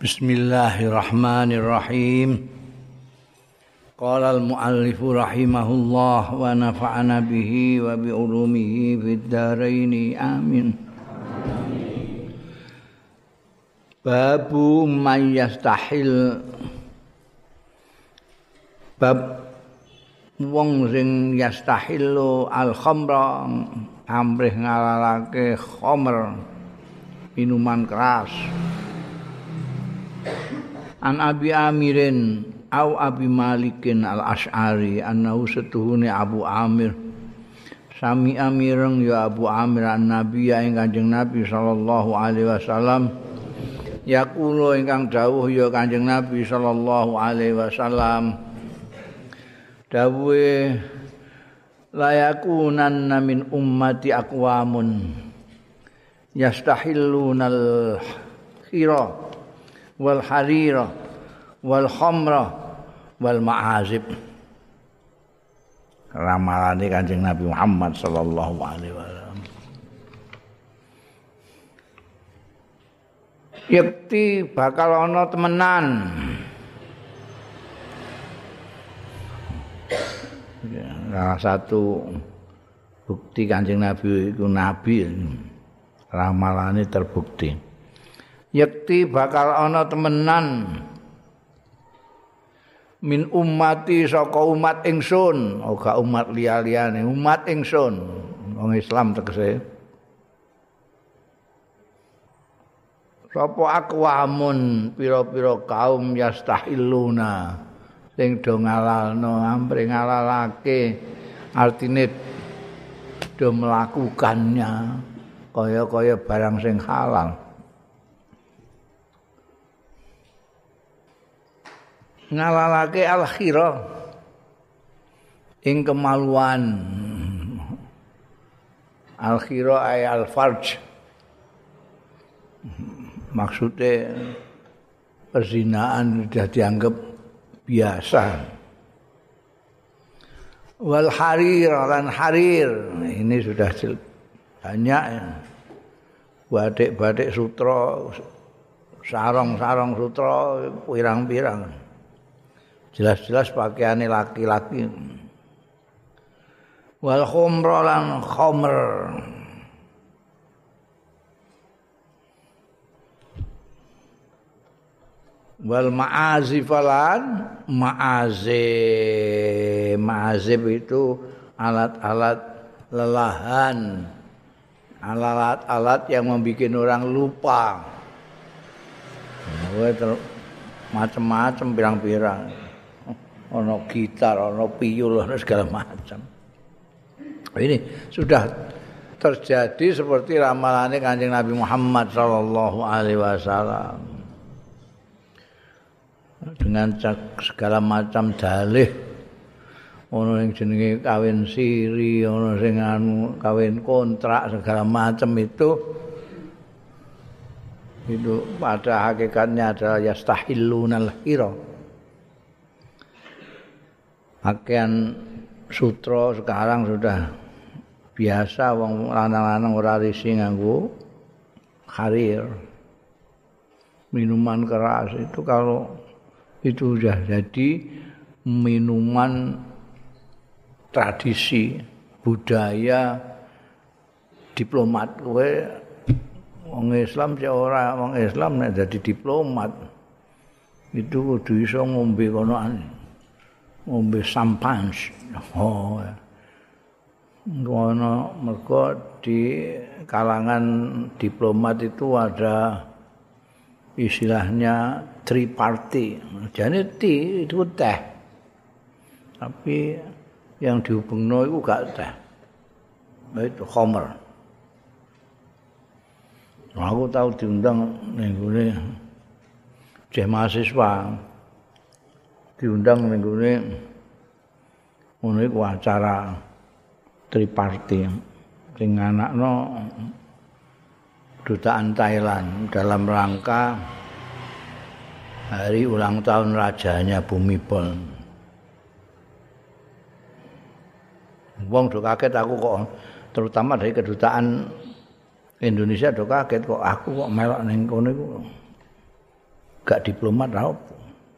Bismillahirrahmanirrahim. Qala al-muallifu rahimahullah wa nafa'ana bihi wa bi ulumihi fid dharain amin. Babu man yastahil, bab wong sing yastahilu al-khamra, amrih ngalalake khamr, minuman keras. An Abi Amirin au Abi Malikin al-Asy'ari annahu setuhune Abu Amir sami amireng ya Abu Amir an-Nabi ing Kanjeng Nabi sallallahu alaihi wasallam yaqulu ingkang dawuh ya Kanjeng Nabi sallallahu alaihi wasallam dawuhe layakunanna min ummati aqwamun yastahillunal khira wal harira wal khamra wal ma'azib. Ramalane Kanjeng Nabi Muhammad sallallahu alaihi wasallam. Yakti bakal ana temenan. Salah satu bukti Kanjeng Nabi iku nabi, ramalane terbukti. Yakti bakal ana temenan min ummati saka umat ingsun, ora umat liya-liyane, umat ingsun, wong Islam tegese. Sapa aqwamun pira-pira kaum yastahiluna sing do ngalalno, ampre ngalalake, artine do melakukannya kaya-kaya barang sing halal. Ngalalake al-khira ing kemaluan, al-khira ay al-farj, maksudnya perzinaan sudah dianggap biasa. Wal harir lan harir ini sudah banyak ya. Batik-batik sutra, sarong-sarong sutra pirang-pirang. Jelas-jelas pakaiane laki-laki. Wal khumra lan khamr. Wal ma'azif lan ma'azif. Ma'azif itu alat-alat lelahan. Alat-alat yang membuat orang lupa. Macam-macam pirang-pirang. Ono gitar, ono piyul, ono segala macam. Ini sudah terjadi seperti ramalannya Kanjeng Nabi Muhammad sallallahu alaihi wasallam. Dengan segala macam dalih, ono yang jenenge kawin siri, ono sing kawin kontrak, segala macam itu pada hakikatnya adalah yastahillunal hira. Pakaian sutra sekarang sudah biasa, wong lanang-lanang ora risi nganggo harir. Minuman keras itu kalau itu sudah jadi minuman tradisi, budaya diplomat. Kowe wong Islam sing ora wong Islam nek dadi diplomat itu kudu iso ngombe konoan. Ngombe sampans. Oh. Ngono mergo di kalangan diplomat itu ada istilahnya triparty. Jane itu teh. Tapi yang dihubungno iku gak teh. Itu khamr. Aku tahu diundang ning gone ceh mahasiswa. Diundang ning gone ngono iku acara triparty sing anakno dutaan Thailand dalam rangka hari ulang tahun rajanya Bhumibol. Wong do kaget aku kok, terutama dari kedutaan Indonesia do kaget kok aku kok melok ning kono iku. gak diplomat ra apa.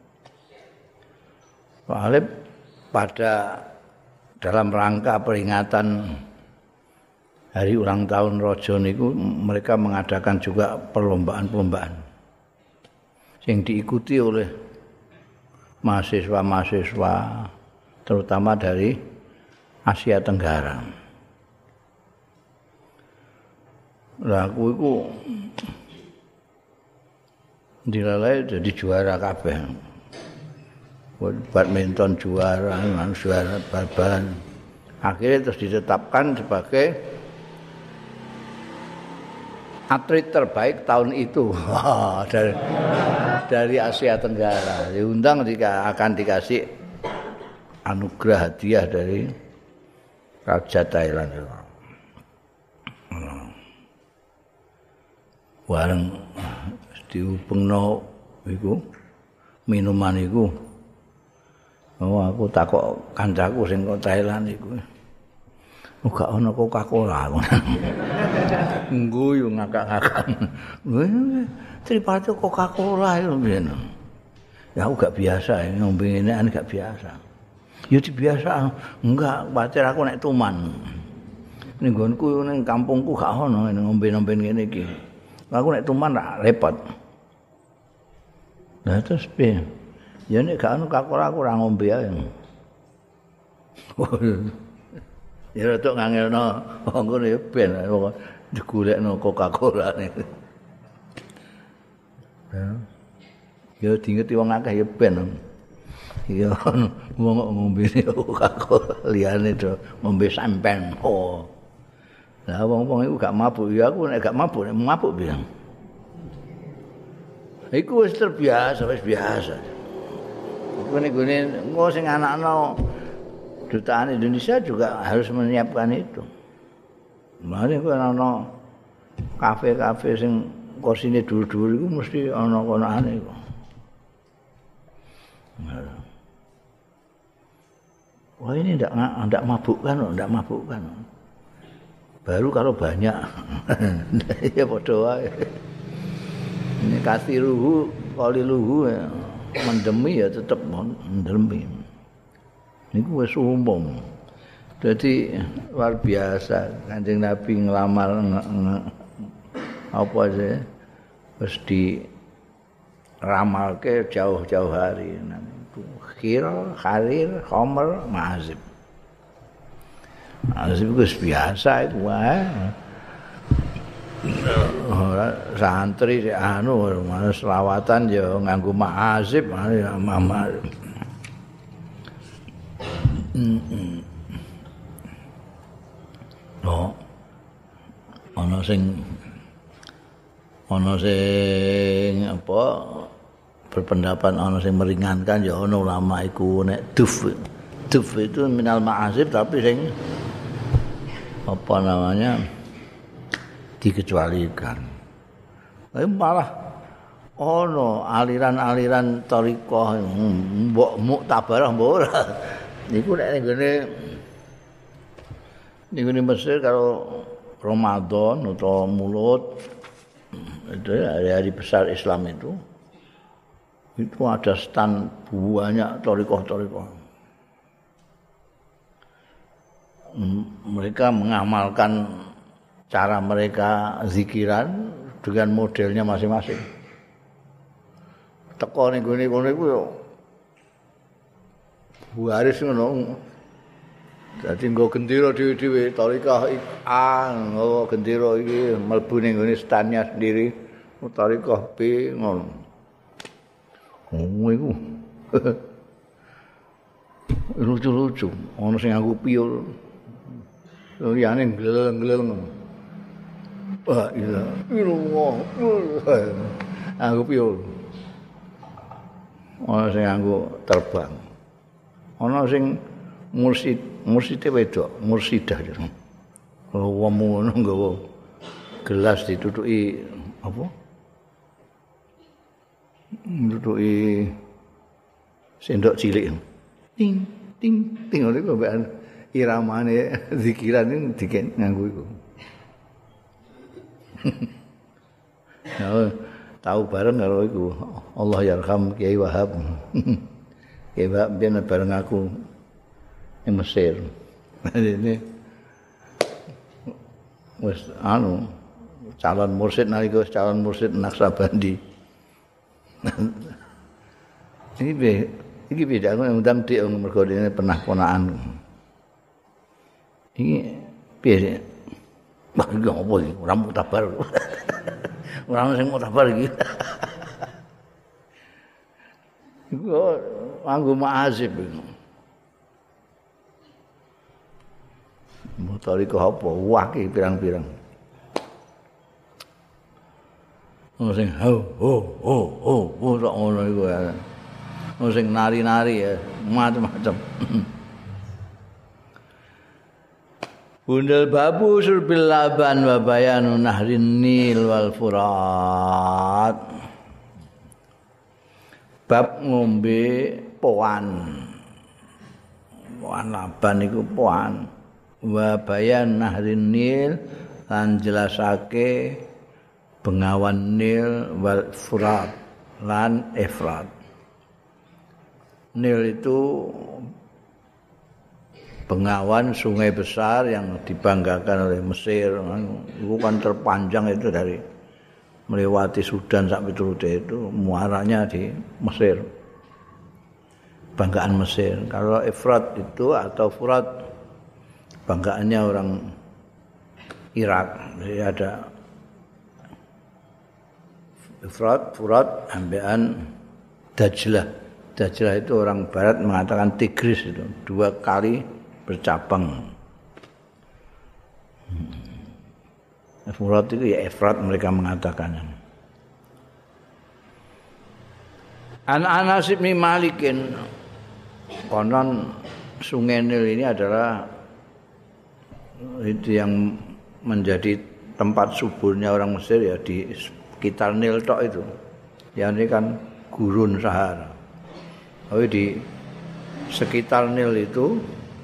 Soalnya pada dalam rangka peringatan hari ulang tahun Raja niku mereka mengadakan juga perlombaan-perlombaan yang diikuti oleh mahasiswa-mahasiswa terutama dari Asia Tenggara. Lah aku iku dilalai jadi juara kabeh. Badminton juara, juara bal-balan. Akhirnya terus ditetapkan sebagai atlet terbaik tahun itu dari Asia Tenggara. Diundang akan dikasih anugerah hadiah dari Raja Thailand. Bareng dihubungno iku minuman iku. Oh aku takok kancaku sing kok Thailand iku. Gak ono Coca-Cola. Ngguyu ngakak-ngakak. Tripati Coca-Cola itu piye. Ya aku gak biasa ngombe ngene gak biasa. Ya biasa enggak pacar aku nek tuman. Ning nggonku ning kampungku gak ono ngombe-ngombe ngene iki. Aku nek tuman ra repot. Lah terus piye? Ya nek gak ono Coca-Cola aku ora ngombe ae. Ya rada ngangelno ngono ya ben digolekno Coca-Cola niku. Ya diingeti wong akeh ya ben. Ya wong ngombe Coca-Cola liyane do ngombe sampen. Oh. Lah wong-wong iku gak mabuk ya aku nek gak mabuk piye. Iku wis terbiasa, wis biasa. Iku nek engko sing anakno Dutaan Indonesia juga harus menyiapkan itu. Mari ku ana kafe-kafe sing kursine dhuwur-dhuwur iku mesti ana konane iku. Wah ini enggak mabukkan. Baru kalau banyak. Ya padha wae. Ini kasih luhu, kali luhu ya. Mendemi ya tetap mendemi. Niku wis umum. Jadi luar biasa Kanjeng Nabi nglamar apa sih wis diramalke jauh-jauh hari. Khir, Kharir, Khamr, Ma'azib. Ma'azib wis biasa iku wae. Santri anu selawatan ya nganggo Ma'azib, mama. No. Ana sing apa berpendapat ana sing meringankan ya ana ulama iku nek duf itu minal ma'azib tapi sing apa namanya dikecualikan. Tapi malah ana aliran-aliran thariqah mbok muktabarah mbok ora. Niku nek ngene Mesir kalau Ramadan atau Maulud itu hari-hari besar Islam itu ada stand banyak thariqah. Mereka mengamalkan cara mereka zikiran dengan modelnya masing-masing. Teko ning gone iku yo waris ngono. Dadi nggo gendera dhewe-dhewe thariqah nggo gendera iki mlebu ning gone stand-nya sendiri. Thariqah B ngono. Oh iku. Lucu-lucu, ana sing nganggo piyul. Liyane glel-glel ngono. Wah, iya. Nganggo piyul. Ana sing nganggo terbang. Ana sing mursite wedok, mursidah. Wong ngono nggawa gelas ditutuki apa? Ditutuki sendok cilik. Ting ting ting ngene kok mbak iramane zikiran iki nganggo iku. tahu bareng karo iku Allah yarham Kiai Wahab. Kiai Wahab ben bareng aku ning Mesir. Ini wis calon mursyid nalika calon mursyid Naksabandi. Iki beda aku ngundang dik mergo dene pernah ponakan. Iki piye? Wah, iki opo iki? Ora mutabar. Ora sing mutabar iki. Iku nganggo ma'azib iku. Motor iku apa? Wah, iki pirang-pirang. Sing ho sak ngono iku ya. Sing nari-nari ya, macam-macam. Bundel babu surbil laban wa bayanu nahrin nil wal furat. Bab ngombe poan. Poan laban iku poan. Wa bayan nahrin nil lan jelasake bengawan nil wal furat lan efrat. Nil itu bengawan sungai besar yang dibanggakan oleh Mesir. Itu kan terpanjang itu dari melewati Sudan sampai turute itu muaranya di Mesir. Banggaan Mesir. Kalau Efrat itu atau Furat banggaannya orang Irak. Jadi ada Efrat, Furat, ambean Dajlah. Dajlah itu orang barat mengatakan Tigris itu 2 kali bercabang. Furat itu ya Efrat mereka mengatakan. An Anas bin Malikin konon Sungai Nil ini adalah itu yang menjadi tempat suburnya orang Mesir ya di sekitar Nil tok itu. Ya ini kan gurun Sahara. Tapi di sekitar Nil itu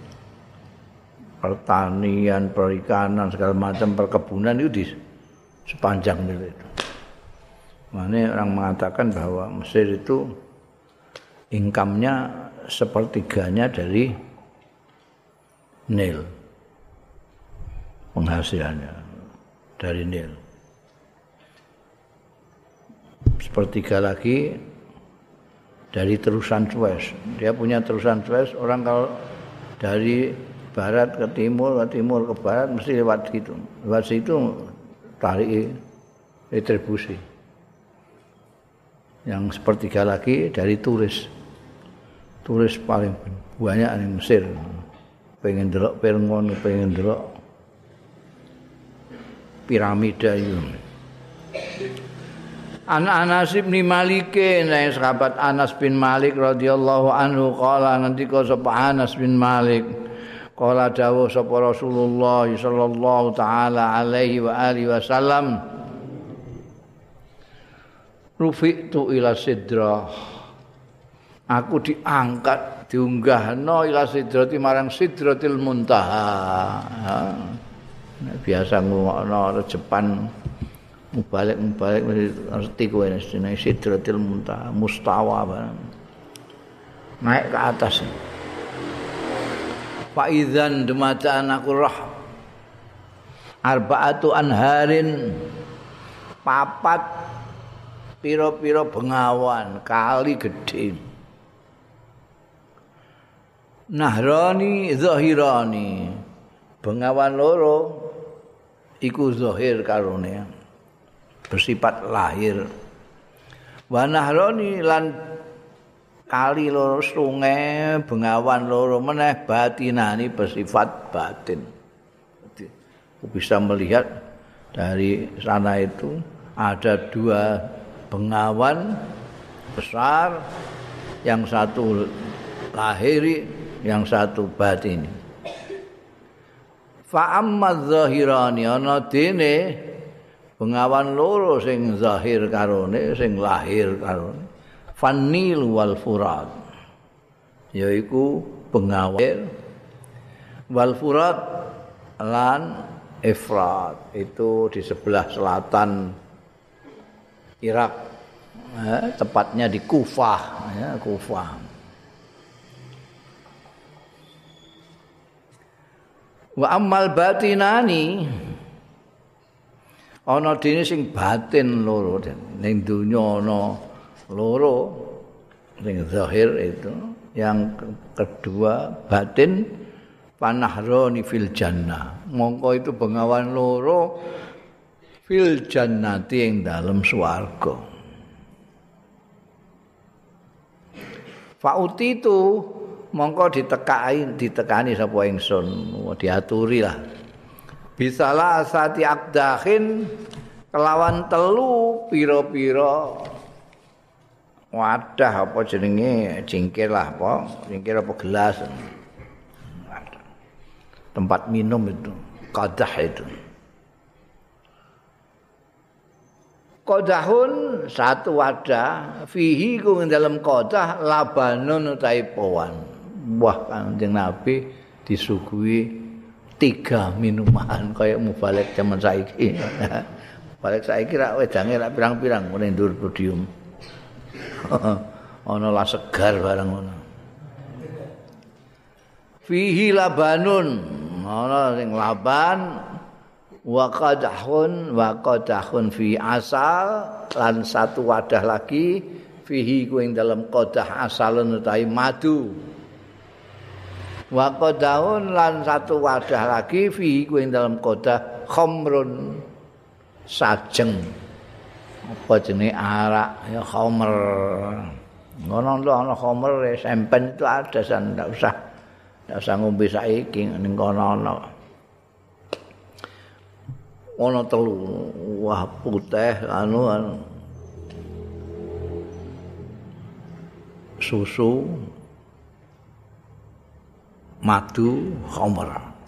pertanian, perikanan, segala macam perkebunan itu di sepanjang Nil itu. Makanya orang mengatakan bahwa Mesir itu income-nya sepertiganya dari Nil. Penghasilannya dari Nil. Sepertiga lagi dari terusan Suez. Dia punya terusan Suez, orang kalau dari barat ke timur ke barat mesti lewat gitu. Lewat situ tarik retribusi. Yang sepertiga lagi dari turis. Turis paling banyak di Mesir. Pengen delok Pirngon, pengen delok piramida itu. Anas bin Malik, sahabat Anas bin Malik radhiyallahu anhu qala ngendika sapa Anas bin Malik qala dawuh sapa Rasulullah sallallahu taala alaihi wa alihi wasallam rufi'tu ila sidrah. Aku diangkat, diunggahno ila sidrati marang sidratil muntaha. Biasa ngomongno rejepan mubalik ngerti kowe jenenge sidratil muntaha, mustawa barang. Naik ke atas. Fa idzan dumacaan aku roh arba'atu anharin papat pira-pira bengawan kali gedhe. Nahrani zahirani. Bengawan loro iku zahir karone bersifat lahir. Wa nahrani lan kali loro sungai bengawan loro meneh batinani bersifat batin. Jadi, bisa melihat dari sana itu ada 2 bengawan besar, yang satu lahiri, yang satu batini. Fa amma zahirani ana dene bengawan loro sing zahir karone, sing lahir karone. Fanil wal furat, yaiku bengawan wal furat lan Efrat, itu di sebelah selatan Irak. tepatnya di Kufah, ya, Kufah. Wa ammal batinani ana dene sing batin loro ning donya ana loro sing zahir itu, yang kedua batin panahroni fil jannah, mongko itu bengawan loro fil jannati ing dalem swarga. Fauti itu mongko ditekani sapa ingsun, diaturi lah. Bisalah asati akdahin kelawan telu pira-pira wadah apa jenenge cingkir lah apa cingkir apa gelas tempat minum itu qadah itu. Qadahun satu wadah fihi ku ing dalam qadah labanun utahe powan. Wah, Kanjeng Nabi disuguhi 3 minuman kaya mubalek zaman saiki. Balik saiki rak wedange rak pirang-pirang ngene ndur podium. Ana lah segar barang ngono. Fihi labanun, ana sing laban wa qadahun fi asal lan satu wadah lagi fihi ku ing dalam qadah asalun utawi madu. Wa qadahun lan satu wadah lagi fihi ku ing dalam qadah khamrun sajeng. Apa jenenge arak ya khamr. Ngono lho ana khamr sempen itu ada san ndak usah ngombe saiki ning kono ana. Ana telu wah putih anu susu madu khamr.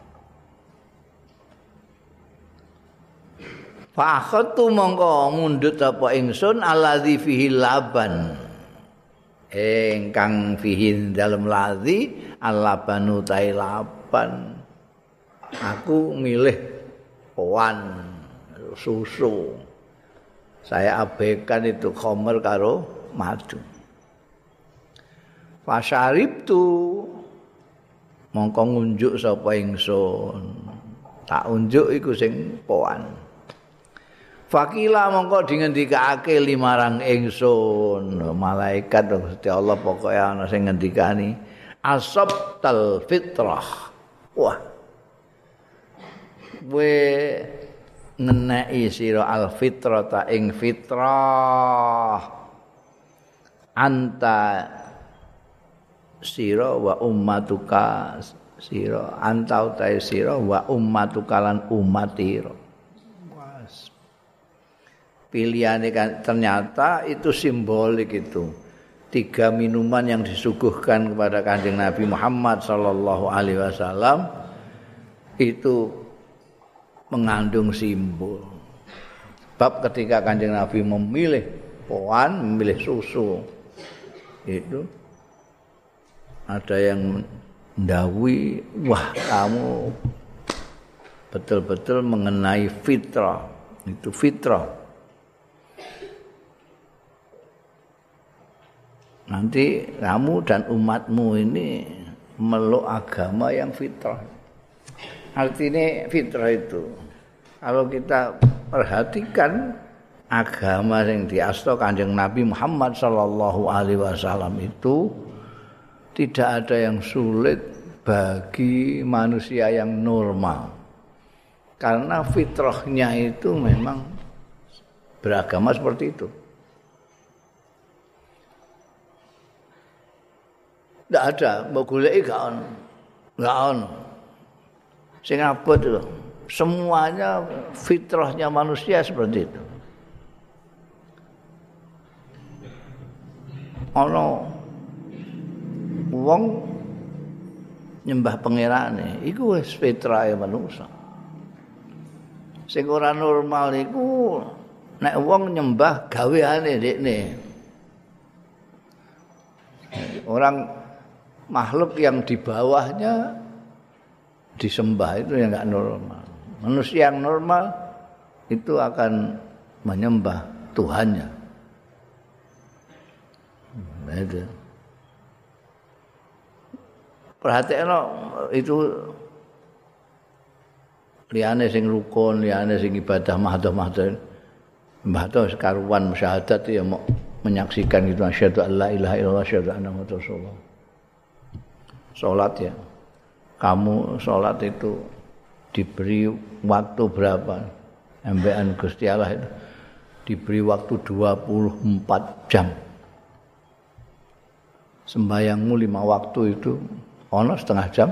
Fa akhadtu mongko mundhut apa ingsun allazi fihi laban. Engkang fihi dalem lazi alabanu tailaban. Aku milih powan susu. Saya abaikan itu khamr karo madu. Fa syaribtu mongko ngunjuk sapa ingsun. Tak unjuk iku sing powan. Fakila mongko dingendikake limarang ingsun malaikat Gusti Allah pokoke ana sing ngendikani asabtal fitrah. Wah. We ngeneki sira al fitrata ing fitrah. Anta sira wa ummatuka sira anta utahe sira wa ummatuka lan umatira. Pilihannya kan ternyata itu simbolik itu 3 minuman yang disuguhkan kepada Kanjeng Nabi Muhammad sallallahu alaihi wasallam itu mengandung simbol. Bab ketika Kanjeng Nabi memilih powan, memilih susu itu ada yang mendawuhi, wah kamu betul-betul mengenai fitrah. Itu fitrah. Nanti kamu dan umatmu ini meluk agama yang fitrah. Artinya fitrah itu kalau kita perhatikan agama yang diasto Kanjeng Nabi Muhammad sallallahu alaihi wasallam itu tidak ada yang sulit bagi manusia yang normal. Karena fitrahnya itu memang beragama seperti itu. Tidak ada, mau goleki gak ono. Sing abot itu. Semuanya fitrahnya manusia seperti itu. Ono wong nyembah pangerane, iku wis fitrahe manusia. Sing ora normal iku nek wong nyembah gaweane dekne. Orang makhluk yang di bawahnya disembah itu yang enggak normal. Manusia yang normal itu akan menyembah Tuhannya. Itu. Perhatikno itu liyane sing rukun, liyane sing ibadah mahdoh-mahdoh. Mahdoh sekaruan syahadat ya mau menyaksikan itu asyhadu an la ilaha illallah asyhadu anna muhammadar rasulullah. Salat ya. Kamu salat itu diberi waktu berapa? Ambekan Gusti Allah itu diberi waktu 24 jam. Sembayangmu 5 waktu itu ono setengah jam.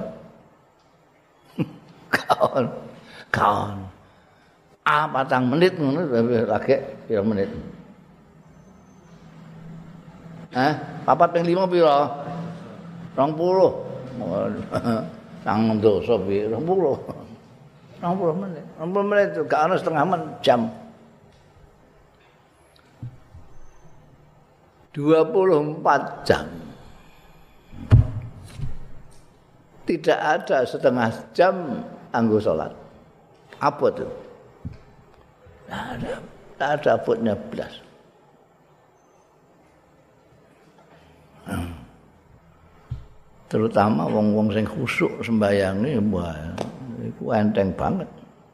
Kaon. Patang menit ngono lagi pira menit. Papat ping 5 pira? 20. Sang dosa pira? 20 menit. 20 menit gak ono setengah jam. 24 jam. Tidak ada setengah jam anggo salat. Apa tuh? Tidak ada abotnya belas. Terutama wong-wong sing khusuk sembayange, wah, iku enteng banget.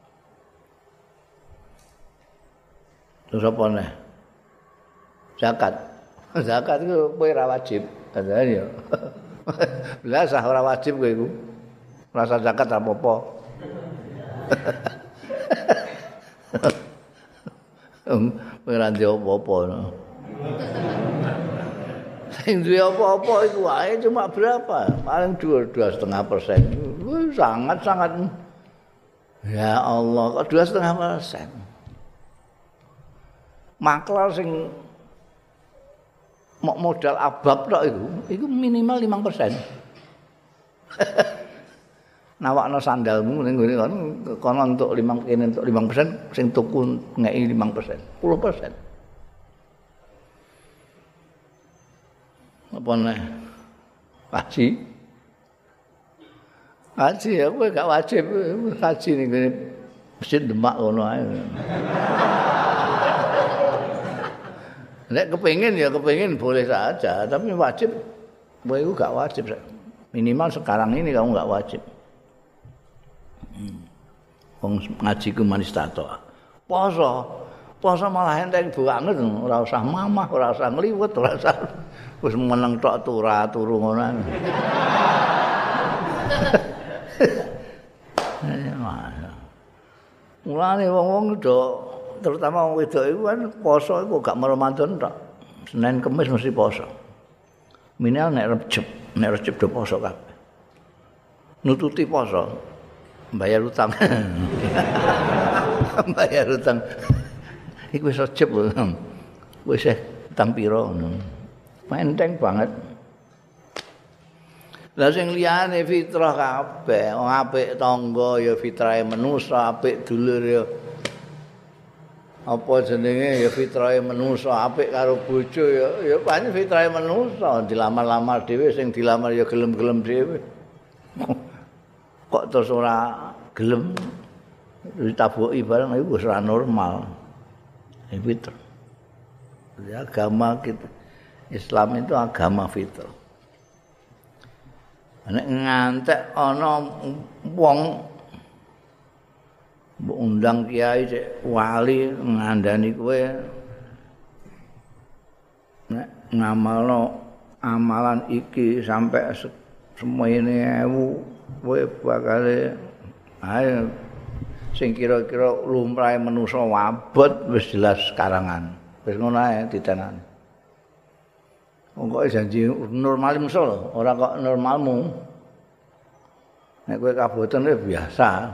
Terus apa nih? Zakat. Zakat itu kowe ora wajib. Katanya ya. Belas ora wajib kowe iku. Rasa zakat apa-apa. Ora ndek apa-apa. Sing duwe apa-apa iku wae cuma berapa? Paling 2,5%. Sangat-sangat. Ya Allah, kok 2,5%. Maklar sing modal abab tok iku minimal 5%. Nawakno sandalmu ning ngene kono untuk 5% sing tuku ngeki 5%, 10%. Apa nih? Haji ya kowe gak wajib haji ning ngene Masjid Demak ngono ae. Nek kepengin boleh saja, tapi wajib kowe iku gak wajib. Minimal sekarang ini kamu gak wajib. Wong ngaji ku manis tato. Poso malah enteng banget, ora usah mamah, ora usah ngliwet, ora usah wis meneng tok turu ngono. Mulane wong-wong do terutama wong wedok iku kan poso iku gak Ramadan tok. Senin Kamis mesti poso. Minimal nek Recep do poso kabeh. Nututi poso. Bayar utang. Bayar utang. Iku wis Recep lho. Wis utang pira ngono. Enteng banget. Lah sing liyane fitrah kabeh, wong apik tangga ya fitrahe manusa, apik dulur ya apa jenenge ya fitrahe manusa, apik karo bojo ya pancen fitrahe manusa, dilamar-lamar dhewe sing dilamar ya gelem-gelem dhewe. Kok terus ora gelem ditabuki barang iku wis ora normal. Fitrah. Ya agama kita Islam itu agama fitrah. Nek ngantek ana wong mbok undang kiai cek wali ngandani kowe nek ngamalno amalan iki sampai semene 1000 kowe bakal ayo sing kira-kira lumrahe manusa wabot wis jelas karangan. Wis ngono ae ditenani. Wong kok janji normal muso lho, ora kok normalmu. Nek kowe kaboten biasa.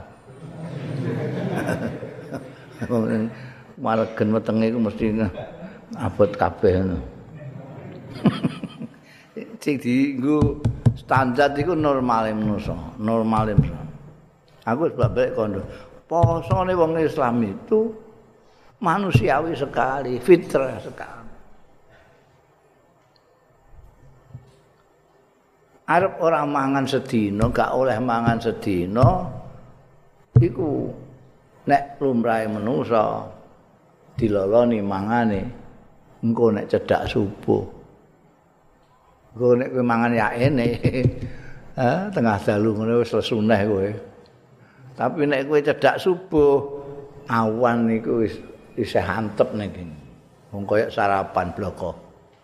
Maregen wetenge iku mesti abot kabeh ngono. Sing dienggo standar iku normale manusa, normale manusa. Aku wis balik kondo. Posone wong Islam itu manusiawi sekali, fitrah sekali. Arep ora mangan sedina, gak oleh mangan sedina iku nek lumrahe manusa diloloni mangane engko nek cedhak subuh Engko nek kowe mangan ya ene. Tengah dalu ngono wis lesuneh kowe. Tapi nek kowe cedak subuh, awan niku wis isih antep ning kene. Wong kaya sarapan bloko.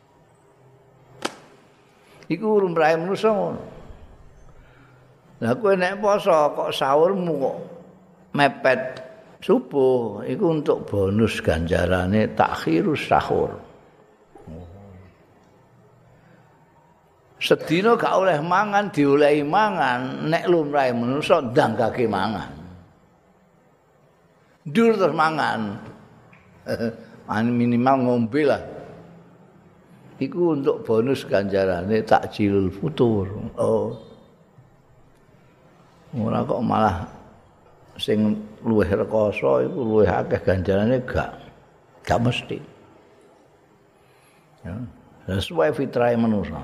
Iku lumrahe manusa ngono. Lah kowe nek poso kok sahurmu kok mepet subuh, iku untuk bonus ganjarane takhirus sahur. Sedina gak oleh mangan diolehi mangan, nek lumrahe manusa ndangkake mangan. Dur terus mangan. Minimal ngombe lah. Iku untuk bonus ganjarane takjilul futur. Oh. Ora kok malah sing luwih rekoso iku luwih akeh ganjarane gak mesti. Ya, sesuai fitrahe manusa.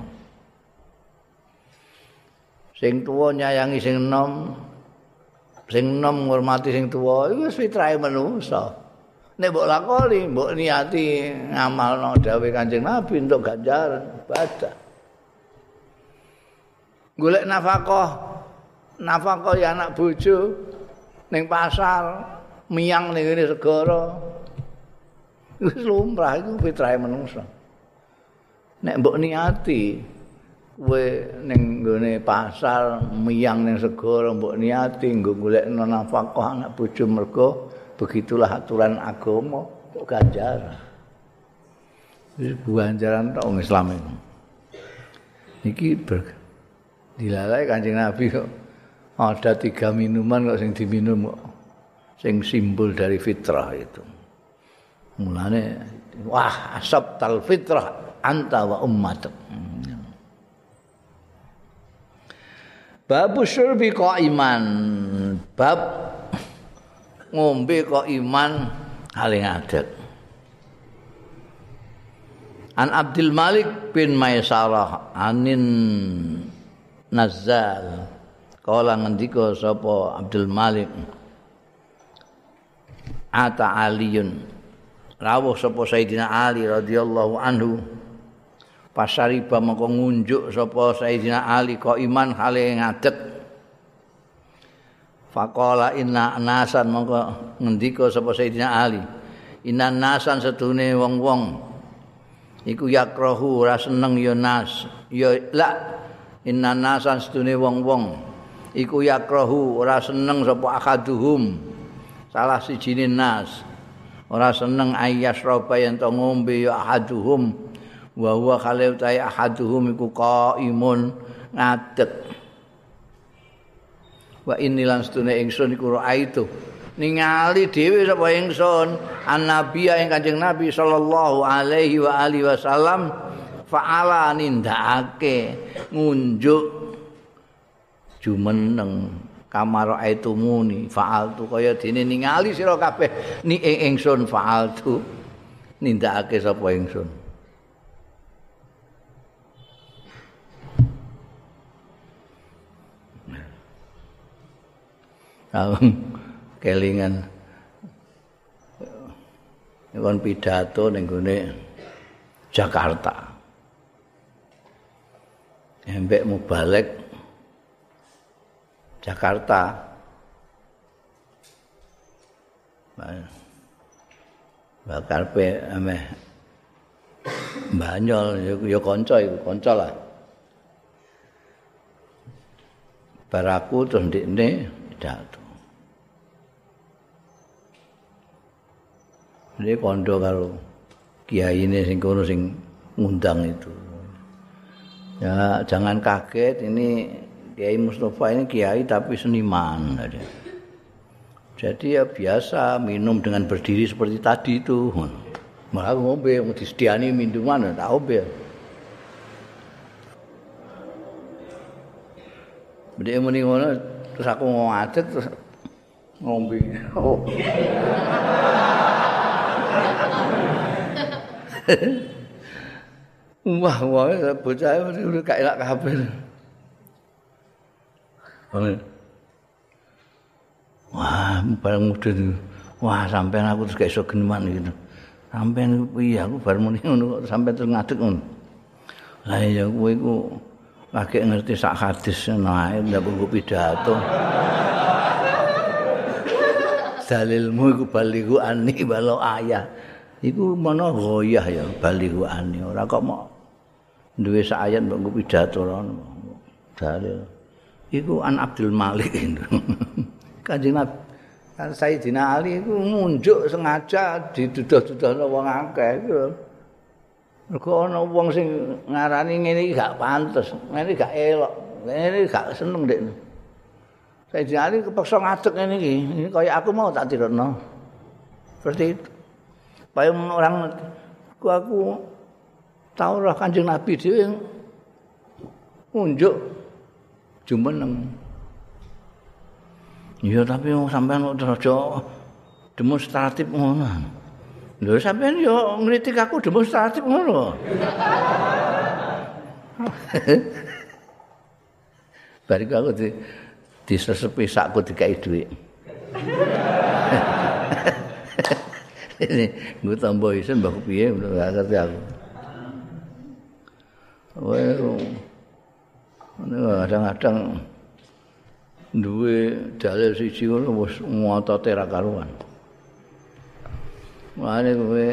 Sing tuwa nyayangi sing enom ngurmati sing tuwa iku wis fitrahe manusa. Nek mbok lakoni, mbok niati ngamalno dawuh Kanjeng Nabi untuk ganjaran ibadah. Golek nafkah ya anak bojo ning pasar, miyang ning ngene segara. Wis lumrah iku fitrahe manusa. Nek mbok niati kowe ning nggone pasar miyang ning segara mbok niati nggo golekno nafkah anak bojo mergo begitulah aturan agama kok ganjaran. Wis ganjaran tok wong Islam iki. Iki dilalai Kanjeng Nabi kok ada 3 minuman kok sing diminum kok sing simbol dari fitrah itu. Mulane wah asabtal fitrah anta wa ummatuk. Babu syurbi qaiman, bab ngombe qaiman hale ngadeg. An Abdul Malik bin Maisarah anin Nazzal kala ngendika sapa Abdul Malik ata Aliyun rawuh sapa Sayyidina Ali radhiyallahu anhu pasariba mengko ngunjuk sapa Sayyidina Ali qaiman hale ngadeg. Faqala inna nasan mongko ngendika sapa Sayyidina Ali inna nasan sedune wong-wong iku yakrahu ora seneng ya nas ya la inna nasan sedune wong-wong iku yakrahu ora seneng sapa akaduhum salah sijine nas ora seneng ayyasroba yen to ngombe ya ahaduhum wa huwa khalil ta ahaduhum iku qaimun ngadeg. Wa inilan sedune ingsun iku raaitu ningali dhewe sapa ingsun annabiya ing Kanjeng Nabi sallallahu alaihi wa alihi wasallam faala nindakake ngunjuk jumeneng kamar aitumuni faaltu kaya dene ningali sira kabeh ni ingsun faaltu nindakake sapa ingsun. Kelingan kon pidato ning gone Jakarta. Embek mubalek Jakarta. Bakal pe ameh Banyol ya kanca iku, kanca lah. Baraku terus ndekne pidato. Dia kondo karo kiyaine sing kono sing ngundang itu. Ya, jangan kaget ini Kiai Mustafa ini kiai tapi seniman. Jadi ya biasa minum dengan berdiri seperti tadi itu. Malah ngombe mau disediani minuman tak ngombe. Bedhe muni ngono terus aku ngadeg terus ngombe. Oh. Wah, bocah udah gak elak kabeh. Wah, bareng mudun. Wah, sampean aku terus gak iso geneman gitu. Sampean piye aku bar muni ngono kok sampean terus ngadeg ngono. Lah ya kowe iku lagi ngerti sak hadis nae ndak buku pidato. Dalilmu iku balighu anni walau ayah. Iku mana goyah ya balighu anni ora kok mau duwe sak ayat mbok pidato rono. Dalil. Iku an Abdul Malik itu. Kanjeng Nabi Sayyidina Ali iku ngunjuk sengaja diduduh-duduhno wong akeh iku. Mergo ana wong sing ngarani ngene iki gak pantes, ngene gak elok, ngene gak seneng ndekne. Sayyidina Ali kepaksa ngadeg ngene iki. Ini kaya aku mau tak tirokno. Seperti itu. Supaya orang aku tahu roh Kanjeng Nabi dhewe ngunjuk jumeneng. Ya tapi sampean kok aja demonstratif ngono. Lho sampean yo ngritik aku demonstratif ngono. Bariku aku disesepi sakku dikai dhuwit. Ini gue tambah isen mbak piye udah ngerti aku. Well, kadang-kadang duwe dalil siji ngono wis ngotote ra karuan. Mane kowe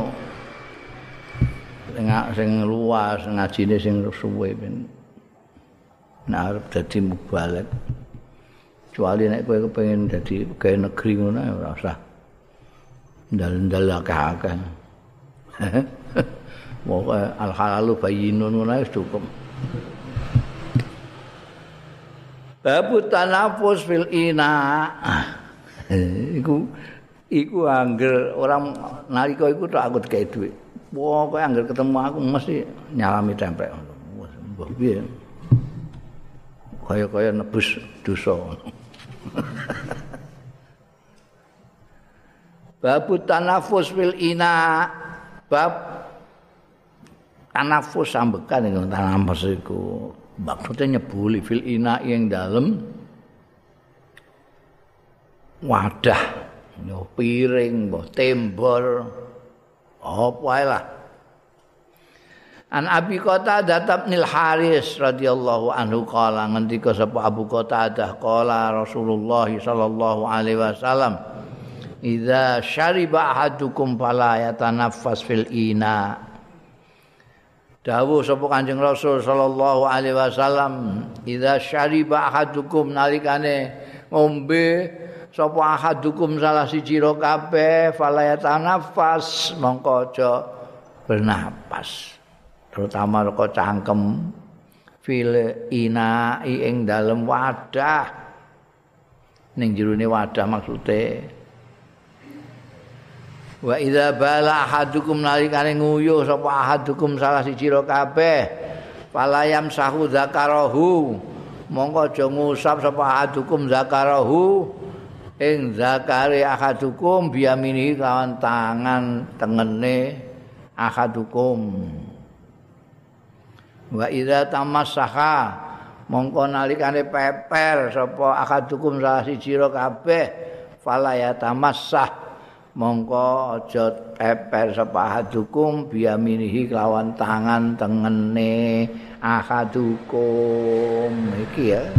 sing luas ngajine sing suwe ben arep dadi mubalek. Kecuali nek kowe kepengin dadi pegawai negeri ngono ora usah. Ndal-ndal akeh-akeh. Pokoke al halalu bayyinun ngono wis cukup. Babu tanafus fil ina. Iku angger orang nalika iku tok aku dikai dhuwit. Pokoke angger ketemu aku mesti nyalami templek. Mbah piye? Kaya nebus dosa. Babu tanafus fil ina. Bab tanafus ambekan iku tanafus iku. Maksudnya nyebuli fil ina yang dalam wadah, piring, tembor, apa ae lah. An Abi Qatadah bin Haris radhiyallahu anhu qala ngendika sapa Abu Qatadah qala Rasulullah sallallahu alaihi wasallam idza syariba ahadukum fala yatanaffas fil ina. Dawuh sapa Kanjeng Rasul sallallahu alaihi wasallam idza syariba ahadukum nalikane ngombe sapa ahadukum salah siji ro kabeh fala yatanaffas mongko aja bernapas terutama kok cangkem fil ina ing dalem wadah ning jerone wadah maksude wa idza bala ahadukum nalikane nguyuh sapa ahadukum salah siji ro kabeh falayam sahu zakarahu mongko aja ngusap sapa ahadukum zakarahu ing zakare ahadukum biyamini lawan tangan tengene ahadukum wa idza tamassaha mongko nalikane peper sapa ahadukum salah siji ro kabeh falayatamassah mongko aja peper sapa ahadukum biyaminihi kelawan tangan tengene ahadukum iki ya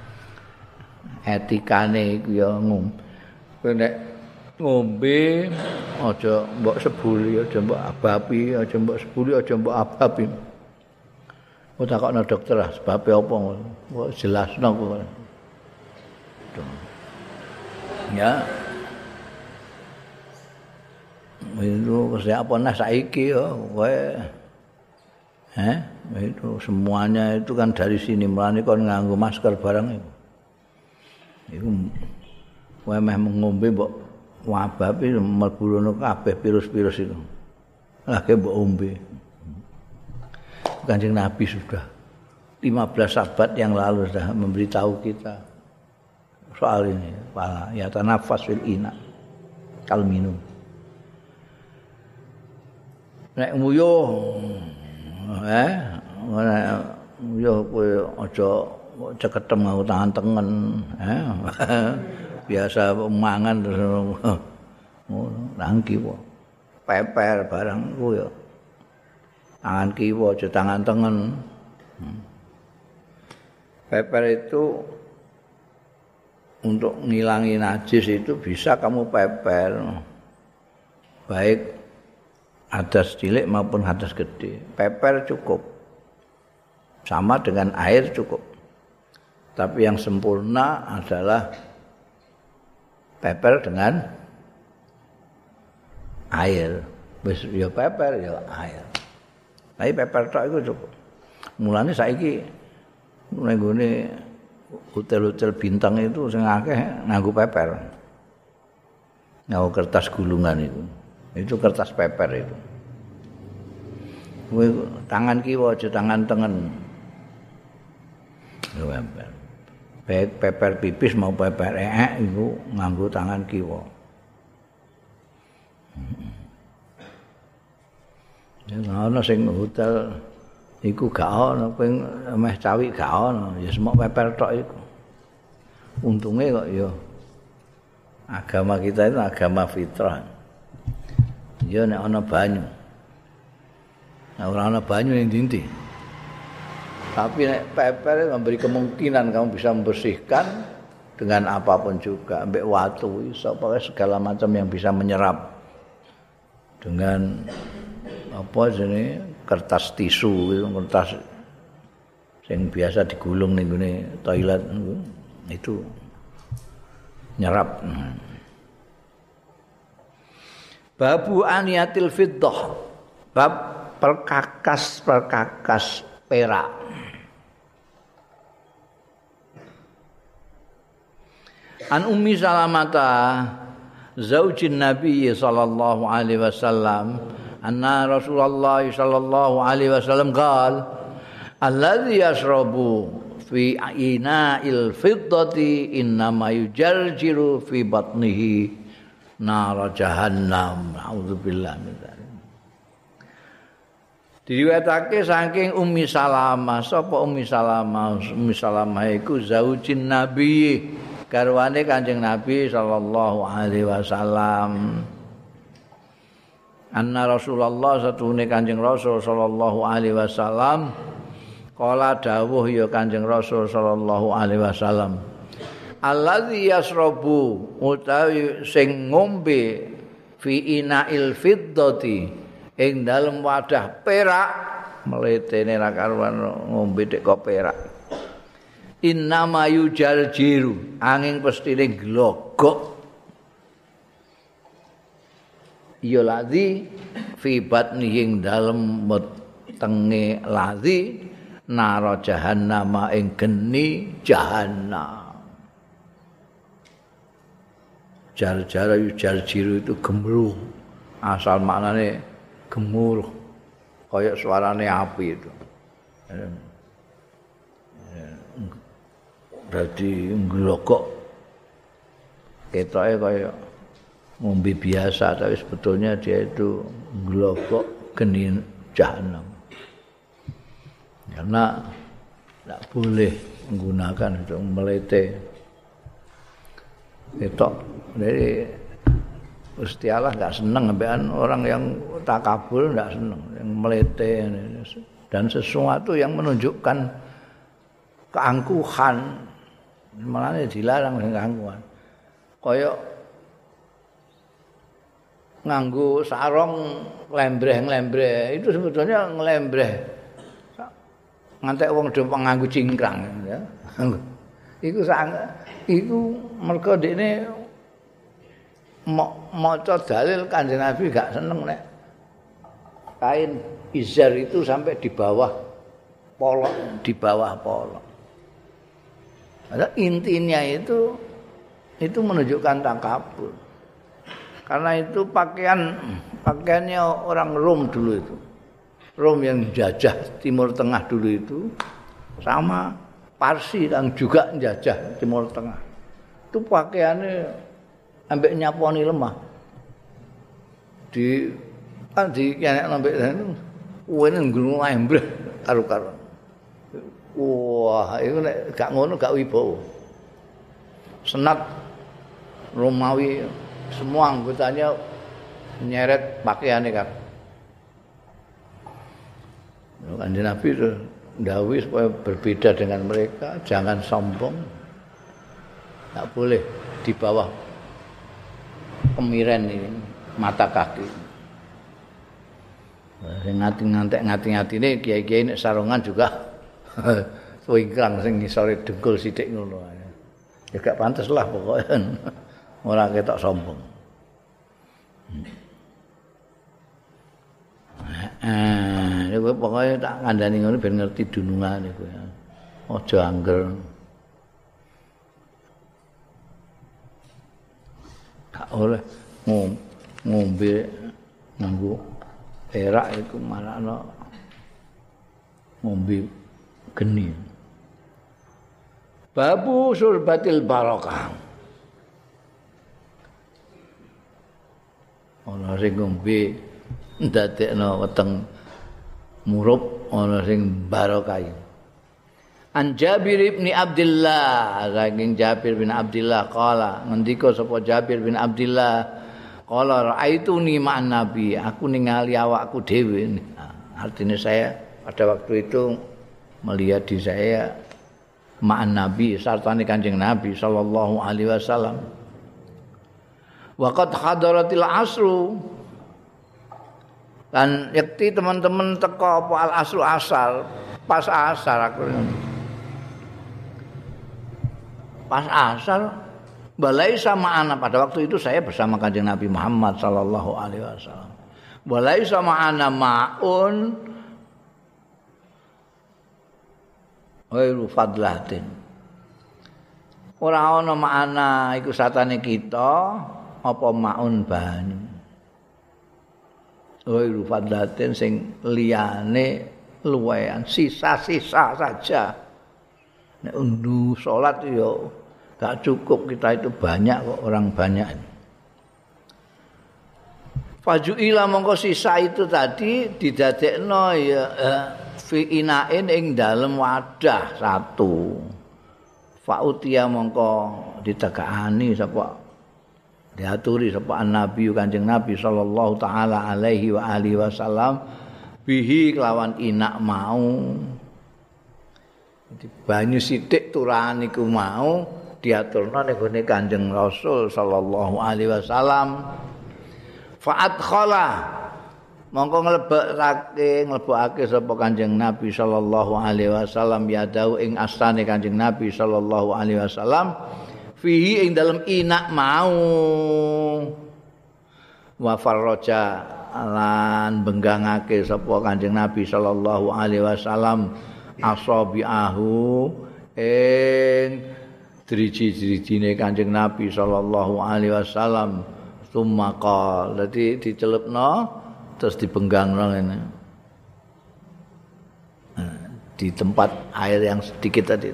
etikane iku ya nek ngombe aja mbok sebuli aja mbok abapi aja mbok sebuli aja mbok abapi kok takokno dokter sebabe apa kok jelasno kok ya itu kesehatan saiki ya kowe itu semuanya itu kan dari sini mulane kon nganggo masker barang iku kowe meh ngombe mbok wabapi mlebu rono kabeh virus-virus itu lagi mbok ombe Kanjeng Nabi sudah 15 sahabat yang lalu sudah memberitahu kita soal ini ya tanafas fil ina kal minum nek nguyuh nguyuh kowe aja ceketem nganggo tangan tengen biasa mangan terus ngono nangki kok peper barang ku ya tangan kiwa aja tangan tengen. Peper itu untuk ngilangi najis itu bisa kamu peper. Baik hadas cilik maupun hadas gede. Peper cukup. Sama dengan air cukup. Tapi yang sempurna adalah peper dengan air. Wis ya peper ya air. Tapi peper tok iku cukup. Mulane saiki ning gone hotel-hotel bintang itu sing akeh nganggo peper. Nganggo kertas gulungan itu. Itu kertas peper itu. Kowe tangan kiwa aja tangan tengen. Peper. Baik peper pipis mau peper itu nganggo tangan kiwa. Ya ana sing hotel iku gak ana ping meh cawi gak ana ya semok peper tok iku. Untunge kok ya agama kita itu agama fitrah. Ya nek ana banyu. Nek ora ana banyu ning ndi. Tapi nek peper memberi kemungkinan kamu bisa membersihkan dengan apapun juga, ambek watu iso pokoke segala macam yang bisa menyerap. Dengan apa jenenge kertas tisu kertas yang biasa digulung ning gone toilet itu nyerap. Babu aniyatil fiddah. Bab perkakas perak. An Ummi Salamata zaujin Nabi sallallahu alaihi wasallam anna Rasulullah sallallahu alaihi wasallam qala alladzi yashrabu fi ina'il fiddati innama yujarjiru fi batnihi nar jahannam. Auzubillah min dzalik. Diriwayatake saking Ummi Salamah. Sapa Ummi Salamah? Ummi Salamah iku zaujin Nabi, garwane Kanjeng Nabi sallallahu alaihi wasallam. Anna Rasulullah satune Kanjeng Rasul sallallahu alaihi wasallam kala dawuh ya Kanjeng Rasul sallallahu alaihi wasallam. Allazi yasrabu utawi sing ngombe fi ina'il fiddati ing dalem wadah perak mletene ra karuan ngombe tek kok perak. Innama yujaljiru angin pestine glogok ya ladzi fi batnihi ing dalem wetenge ladzi nara jahannam ing geni jahannam. Jar-jar yujaljiru itu gemuruh. Asal maknane gemuruh kayak suarane api itu. Berarti nglokok ketoke kaya ngombe biasa tapi sebetulnya dia itu nglokok geni jahanam. Karena tidak boleh menggunakan itu melete. Ketok dari Gusti Allah enggak senang ambekan orang yang takabur, enggak senang yang melete dan sesuatu yang menunjukkan keangkuhan. Malah dilarang sing keangkuhan. Kaya nganggo sarung lembreh-lembreh itu sebetulnya ngelembreh. Ngantek wong do nganggo cingkrang ya. Iku mergo dekne maca dalil Kanjeng Nabi gak seneng nek kain izar itu sampai di bawah polok, di bawah polok. Padahal intinya itu menunjukkan takabur. Karena itu pakaiannya orang Rom dulu itu. Rom yang jajah Timur Tengah dulu itu sama Parsi yang juga menjajah Timur Tengah. Itu pakaiannya ambek nyaponi lemah. Di kene ambek wene nggulu embreh karo-karo. Wah, itu nek gak ngono gak wibawa. Senat Romawi semua anggotanya nyeret pakaiannya kan. Kanjeng Nabi ndhawuhi supaya berbeda dengan mereka, jangan sombong. Tak boleh di bawah kemiren ini, mata kaki. Sing ngati-ngatine kiai-kiai nek sarungan juga wingkrang sing ngisore dengkul sithik ngono. Ya gak pantes lah pokoknya. Ora ketok sombong. Kowe pokoke tak kandhani ngono ben ngerti dunungane kowe. Aja angger. Gak oleh ngombe nganggo perak iku marakno ngombe geni. Babu surbatil barokah. Ana sing ngombe ndadekno weteng murup, ana sing barokah. An Jabir bin Abdullah, saking Jabir bin Abdullah qala, ngendika sapa Jabir bin Abdullah, qala raaituni ma'an nabi, aku ningali awakku dhewe. Artinya saya pada waktu itu melihat di saya ma'an nabi, sartane Kanjeng Nabi sallallahu alaihi wasallam. Wa qad hadaratil asru. Dan yakti teman-teman teko apa al asru asar, pas asar aku. Pas asar balai sama anak pada waktu itu saya bersama Kanjeng Nabi Muhammad sallallahu alaihi wasallam. Balai sama anak maun ghairu fadlatin. Ora ana makna iku satane kita apa maun banyu. Ghairu fadlatin sing liyane luwehan sisa-sisa saja. Nek undu salat ya gak cukup, kita itu banyak kok, orang banyak. Fajuila mongko sisa itu tadi didadekno ya fi inain ing dalem wadah satu. Fautia mongko ditegakani sapa diaturi sapa Nabi Kanjeng Nabi sallallahu taala alaihi wa alihi wasallam bihi kelawan inak mau. Jadi banyu sithik turahan iku mau diaturna ning gone Kanjeng Rasul sallallahu alaihi wasallam. Fa'at khala mongko nglebokake sapa Kanjeng Nabi sallallahu alaihi wasallam yadau ing astane Kanjeng Nabi sallallahu alaihi wasallam fihi ing dalem inak mau. Wa farraja lan benggangake sapa Kanjeng Nabi sallallahu alaihi wasallam asabiahu ing driji-drijine Kanjeng Nabi sallallahu alaihi wasallam summa qala dadi dicelupno terus dibenggangno ngene di tempat air yang sedikit tadi.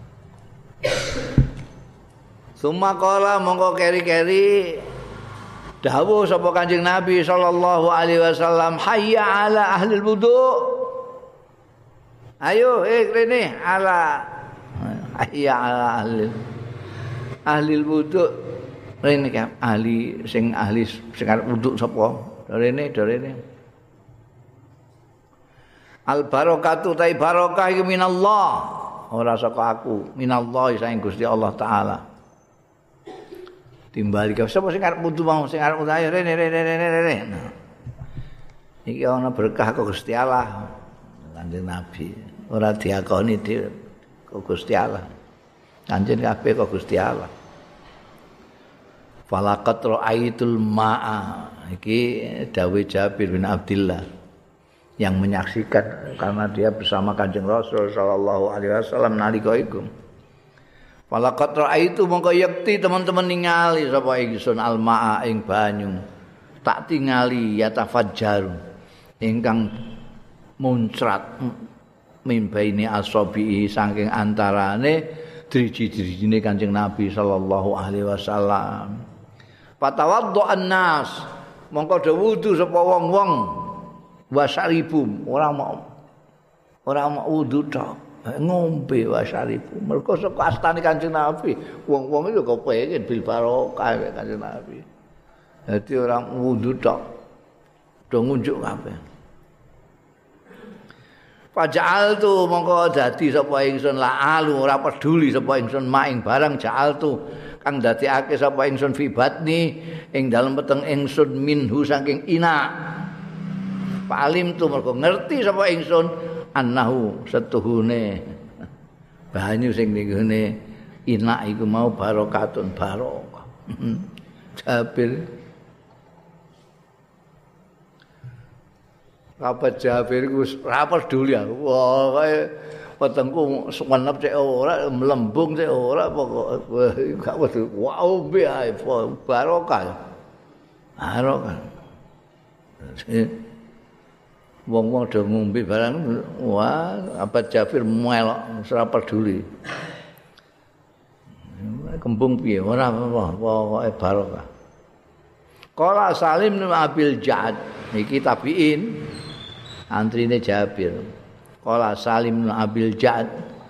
Summa qala mongko keri-keri dawuh sapa Kanjeng Nabi sallallahu alaihi wasallam hayya ala ahli wudu. Ayo rene ala hayya ala ahli wudu. Rene kan ahli sing arep wudu sapa? Rene. Al barakatu ta barokah iku minallah. Ora saka aku, minallah saking Gusti Allah taala. Timbali sapa sing arep wudu mau sing arep ayo rene. Nah. Iki ana berkah kok Gusti Allah. Kanjeng Nabi ora diakoni kok Gusti Allah. Kanjeng kabeh kok Gusti Allah. Falaqat ra'aitul ma'a. Iki dawuh Jabir bin Abdullah yang menyaksikan karena dia bersama Kanjeng Rasul sallallahu alaihi wasallam nalika iku. Falaqat ra'aitu mongko yakti teman-teman ningali sapa ingsun al-ma'a ing banyu. Tak tingali yatafajjaru ingkang muncrat mimbaini asabihi saking antarane driji-drijine Kanjeng Nabi sallallahu alaihi wasallam. Fatawaddu'an nas mongko do wudu sapa wong-wong wasaribu ora mau wudu tok ngombe wasaribu mergo saka astane Kanjeng Nabi wong-wong itu kepengin bil barokah Kanjeng Nabi. Dadi ora wudu tok do ngunjuk kabeh. Faja'altu mongko dadi sapa ingsun la'alu ora peduli sapa ingsun maing barang ja'altu kang dadekake sapa ingsun fi batni ing dalem peteng ingsun minhu saking ina. Palim tu mergo ngerti sapa ingsun annahu setuhune banyu sing ning gone ina iku mau barokatun barokah. Jabir Kapan Jabir iku ora peduli aku. Wah, kaya wetengku suwenep cek ora, melembung cek ora pokoke gak peduli. Wow, be ae barokah. Barokah. Wong-wong do ngombe barang wah, apa Jabir melok ora peduli. Kembung piye ora apa pokoke barokah. Qala Salim bin Abil Ja'ad iki tabiin antrine Jabir. Qala Salim bin Abil Ja'ad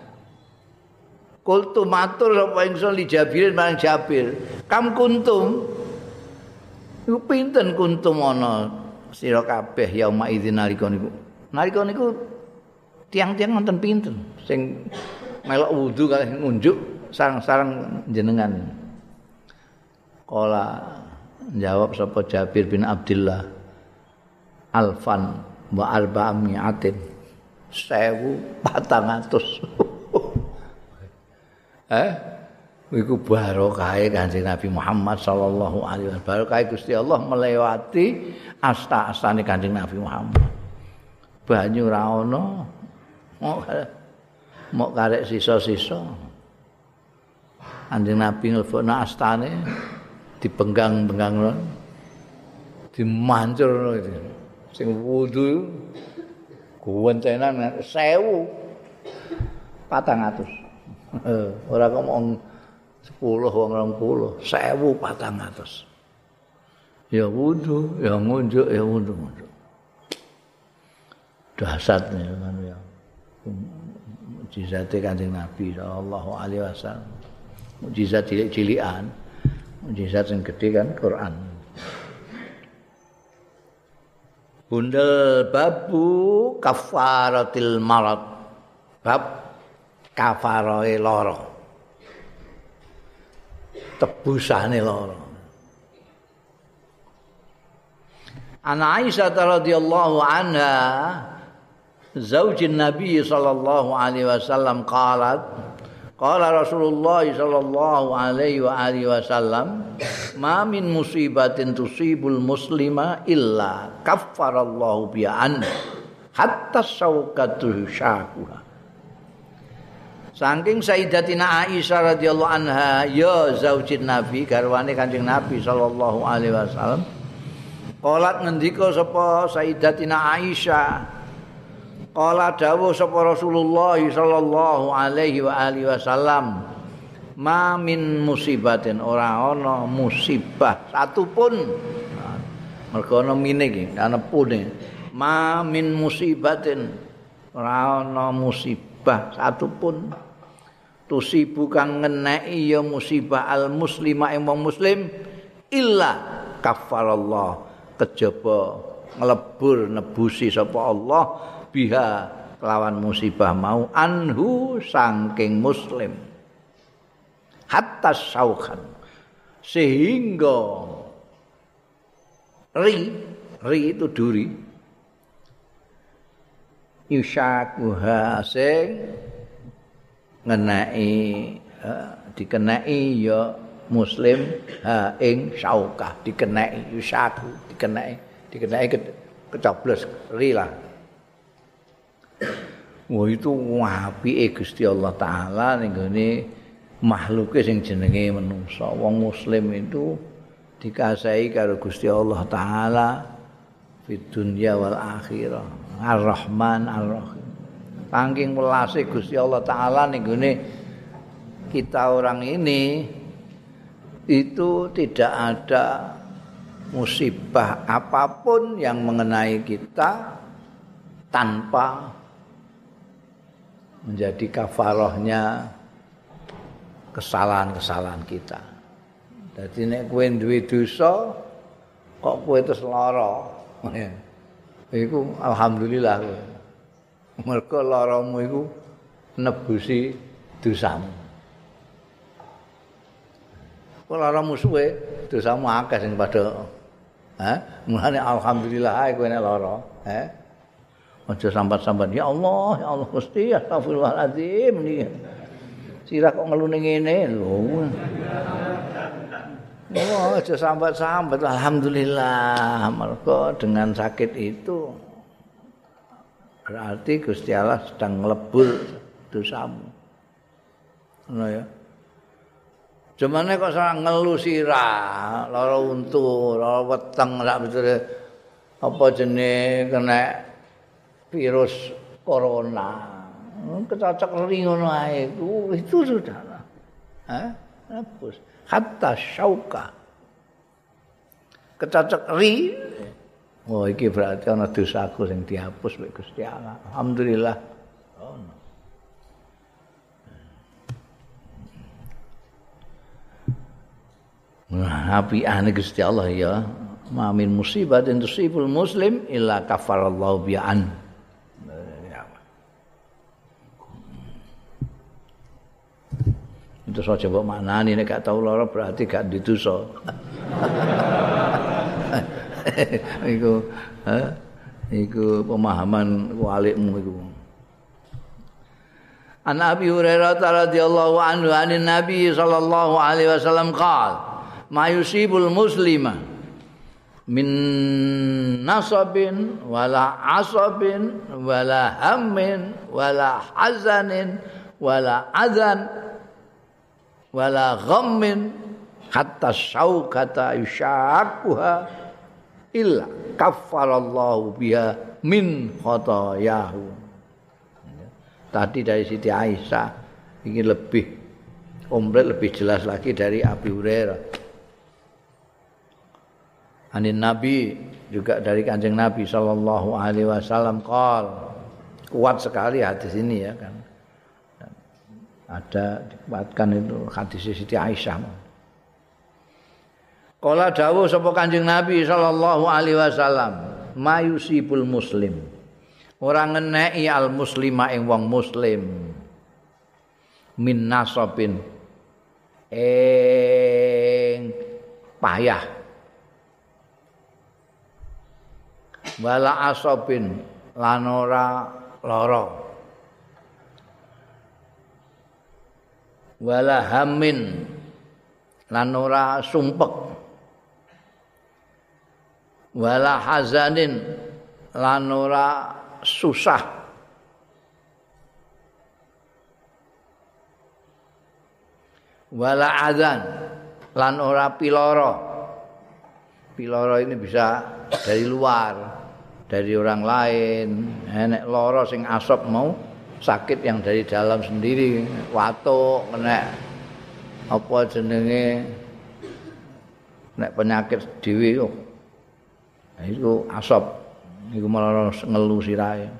Qultu matur sapa ingsun li Jabirin marang Jabir, kam kuntum iku pinten kuntum ana sira kabeh yauma idzin nalika niku. Nalika niku tiang-tiang wonten pinten sing melok wudu kalih ngunjuk sareng-sareng jenengan. Qala jawab sapa Jabir bin Abdullah alfan wa arba'amiatin 1400 iku barokahe Kanjeng Nabi Muhammad sallallahu alaihi wasallam. Barokahe Gusti Allah melewati asta-astane Kanjeng Nabi Muhammad. Banyu ora ana, mok karek sisa-sisa. Kanjeng Nabi nglebokno astane dipenggang-penggang dimancur itu. Sing wudu kuwentenan 1400. Ora kok mong 10 wong 20, 1400. Ya wudu, ya ngunjuk, ya wudu. Dahsyatnya kan ya. Mukjizat Kanjeng Nabi sallallahu alaihi wasallam. Mukjizat cilik-cilikan. Mukjizat yang gede kan Quran. Bundel babu kafaratil marad. Bab kafarahe lara. Tebusane lara. Ana Aisyah radhiyallahu anha zaujin Nabi sallallahu alaihi wasallam qalat qala Rasulullah sallallahu alaihi wa alihi wasallam ma min musibatin tusibul muslima illa kaffarallahu bi'an hatta syauqatu syakuha. Saking Sayyidatina Aisyah radhiyallahu anha ya zaujin Nabi garwane Kanjeng Nabi sallallahu alaihi wasallam qalat ngendika sapa Sayyidatina Aisyah qala dawuh sapa Rasulullah sallallahu alaihi wa alihi wasallam ma min musibatin ora ana musibah satupun mergo ana mine iki ana pune ma min musibatin ora ana musibah satupun tusibu kang ngeneki ya musibah al muslima ing wong muslim illa kaffarallah kejaba nglebur nebusi sapa Allah biha kelawan musibah mau anhu saking muslim hatta syaukan sehingga ri itu duri yushakuha sing ngenai dikenai ya muslim ha ing syaukah dikenai yushaku dikenai kecoblos ri lah. Wah itu apike Gusti Allah taala ning gone makhluke sing jenenge manungsa. Wong muslim itu dikasihi karo Gusti Allah taala fid dunya wal akhirah. Ar-Rahman Ar-Rahim. Saking welase Gusti Allah taala ning gone kita orang ini itu tidak ada musibah apapun yang mengenai kita tanpa menjadi kafarahnya kesalahan-kesalahan kita. Jadi nek kowe duwe dosa kok kowe terus lara. Iku alhamdulillah. Mergo laramu iku nebusi dosamu. Kok laramu suwe, dosamu akeh sing padha. Mulane alhamdulillah ae kowe nek lara, Aja sambat-sambat ya Allah Gusti astagfirullahalazim niki. Sirah kok ngelune ngene lho. Oh, aja sambat-sambat alhamdulillah. Mergo dengan sakit itu berarti Gusti Allah sedang nglebur dosamu. Ngono ya. Jemane kok ora ngelu sirah, lara untu, lara weteng sak beture apa jenenge kena virus corona. Kecocok ri ngono ae itu sudah. Hapus. Hatta syauka. Kecocok ri. Oh iki berarti ana dosaku sing dihapus mek Gusti Allah. Alhamdulillah. Apiane Gusti Allah ya. Ma min musibatin tusibul muslim illa kafarallahu bi'an. Itu saja mbok maknani nek gak tau lara berarti gak didosa. Iku pemahaman walikmu iku. An Abi Hurairah radhiyallahu anhu anin Nabi sallallahu alaihi wasallam qala ma yusibul muslima min nasabin wala asabin wala hammin wala hazanin wala adzan wala ghammin hatta syaukata yushaquha illa kaffarallahu biha min khotayahu. Tadi dari Siti Aisyah ini lebih komplit lebih jelas lagi dari Abi Hurairah. Anin Nabi juga dari Kanjeng Nabi sallallahu alaihi wasallam qol. Kuat sekali hadis ini ya kan. Ada dikuatkan itu hadis Siti Aisyah. Qala dawuh sapa Kanjeng Nabi sallallahu alaihi wasallam, mayusibul muslim. Ora ngeneki al muslima ing wong muslim min nasabin ing payah wala asabin lan ora lara wala hamin lan ora sumpek wala hazanin lan ora susah wala adzan lan ora piloro. Piloro ini bisa dari luar, dari orang lain. Nek lara sing asap mau sakit yang dari dalam sendiri, watuk, kena apa jenenge nek penyakit dhewe kok. Itu asap, iku malah ngelu sirahe.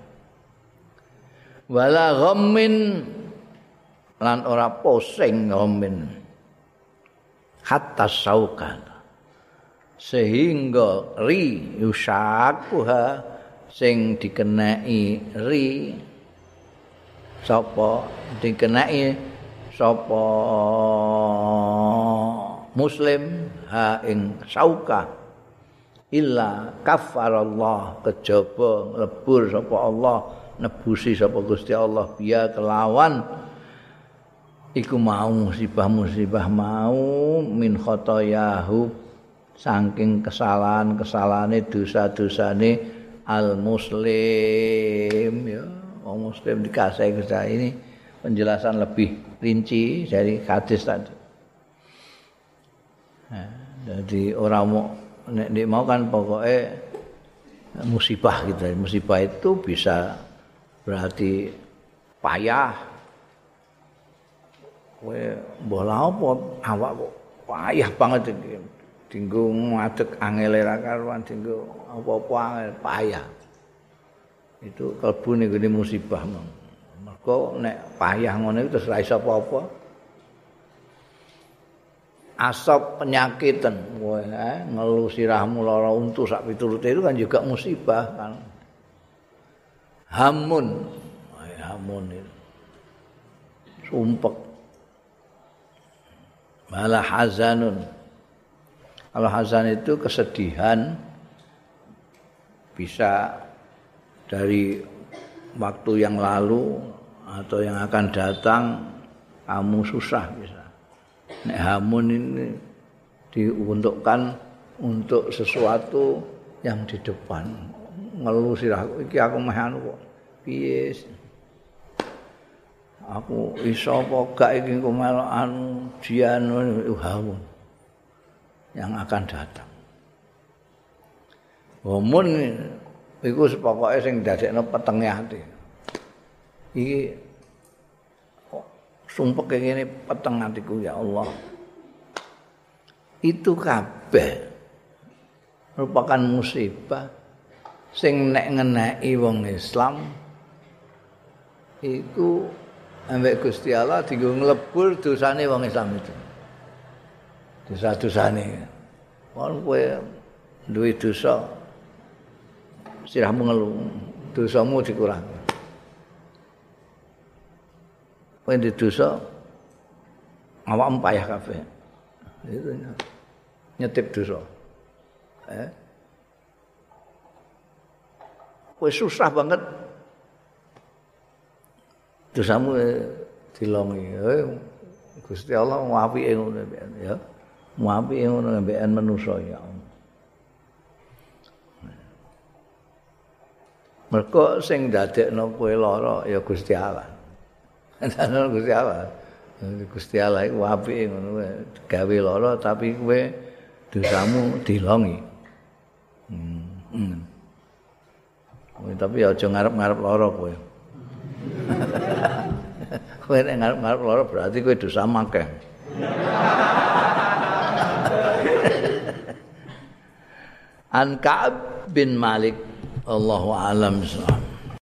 Wala ghammin lan ora pusing ghammin. Hatta saukan. Sehingga ri yusakuha sing dikenai ri sapa dikenai sapa muslim ha ing sauka illa kafarallah kejaba lebur sapa Allah nebusi sapa Gusti Allah biya kelawan iku mau musibah-musibah mau min khotoyahu saking kesalahan-kesalahane dosa-dosane al muslim ya wong muslim dikasih Gusti ini penjelasan lebih rinci dari hadis tadi. Nah, jadi orang mau kan pokoknya musibah gitu. Musibah itu bisa berarti payah. Kowe mbola apa awak kok payah banget iki. Dinggo ngadeg angele ra karuan dinggo apa-apa angel payah. Itu kalbu ning gone musibah mong. Mergo nek payah ngono terus ra iso apa-apa. Asap penyakitan, ngelu sirahmu lara untu sak piturute itu kan juga musibah kan. Hamun hamun itu. Sumpek. Malah hazanun. Kalau hazan itu kesedihan bisa dari waktu yang lalu atau yang akan datang kamu susah bisa. Nek hamun ini diuntukkan untuk sesuatu yang di depan. Ngeluh sirah iki aku meh anu kok. Piye? Aku iso apa gak iki engko melok anu jian hamun yang akan datang. Hamun iku pokoke sing dadekno petenge ati. Iki sumpek ngene peteng atiku ya Allah. Itu kabeh merupakan musibah sing nek ngeneki wong Islam iku ambek Gusti Allah dienggo nglebur dosane wong Islam itu. Dosa-dosane. Wong kowe duwe dosa sirahmu ngeluh, dosamu dikurangi. Kowe ndek dosa awakmu payah kabeh. Itu nyetip dosa. Kowe susah banget dosamu dilongi. Gusti Allah ngapike ngono ya. Ngapike ngono mbekan manusa ya. Mergo sing dadekno kowe lara ya Gusti Allah. Ana Gusti Allah. Gusti Allah iku apike ngono gawe lara tapi kowe dosamu dilongi. Tapi aja ngarep-ngarep lara kowe. Kowe nek ngarep-ngarep lara berarti kowe dosa akeh. An Ka'ab bin Malik Allahu a'lam.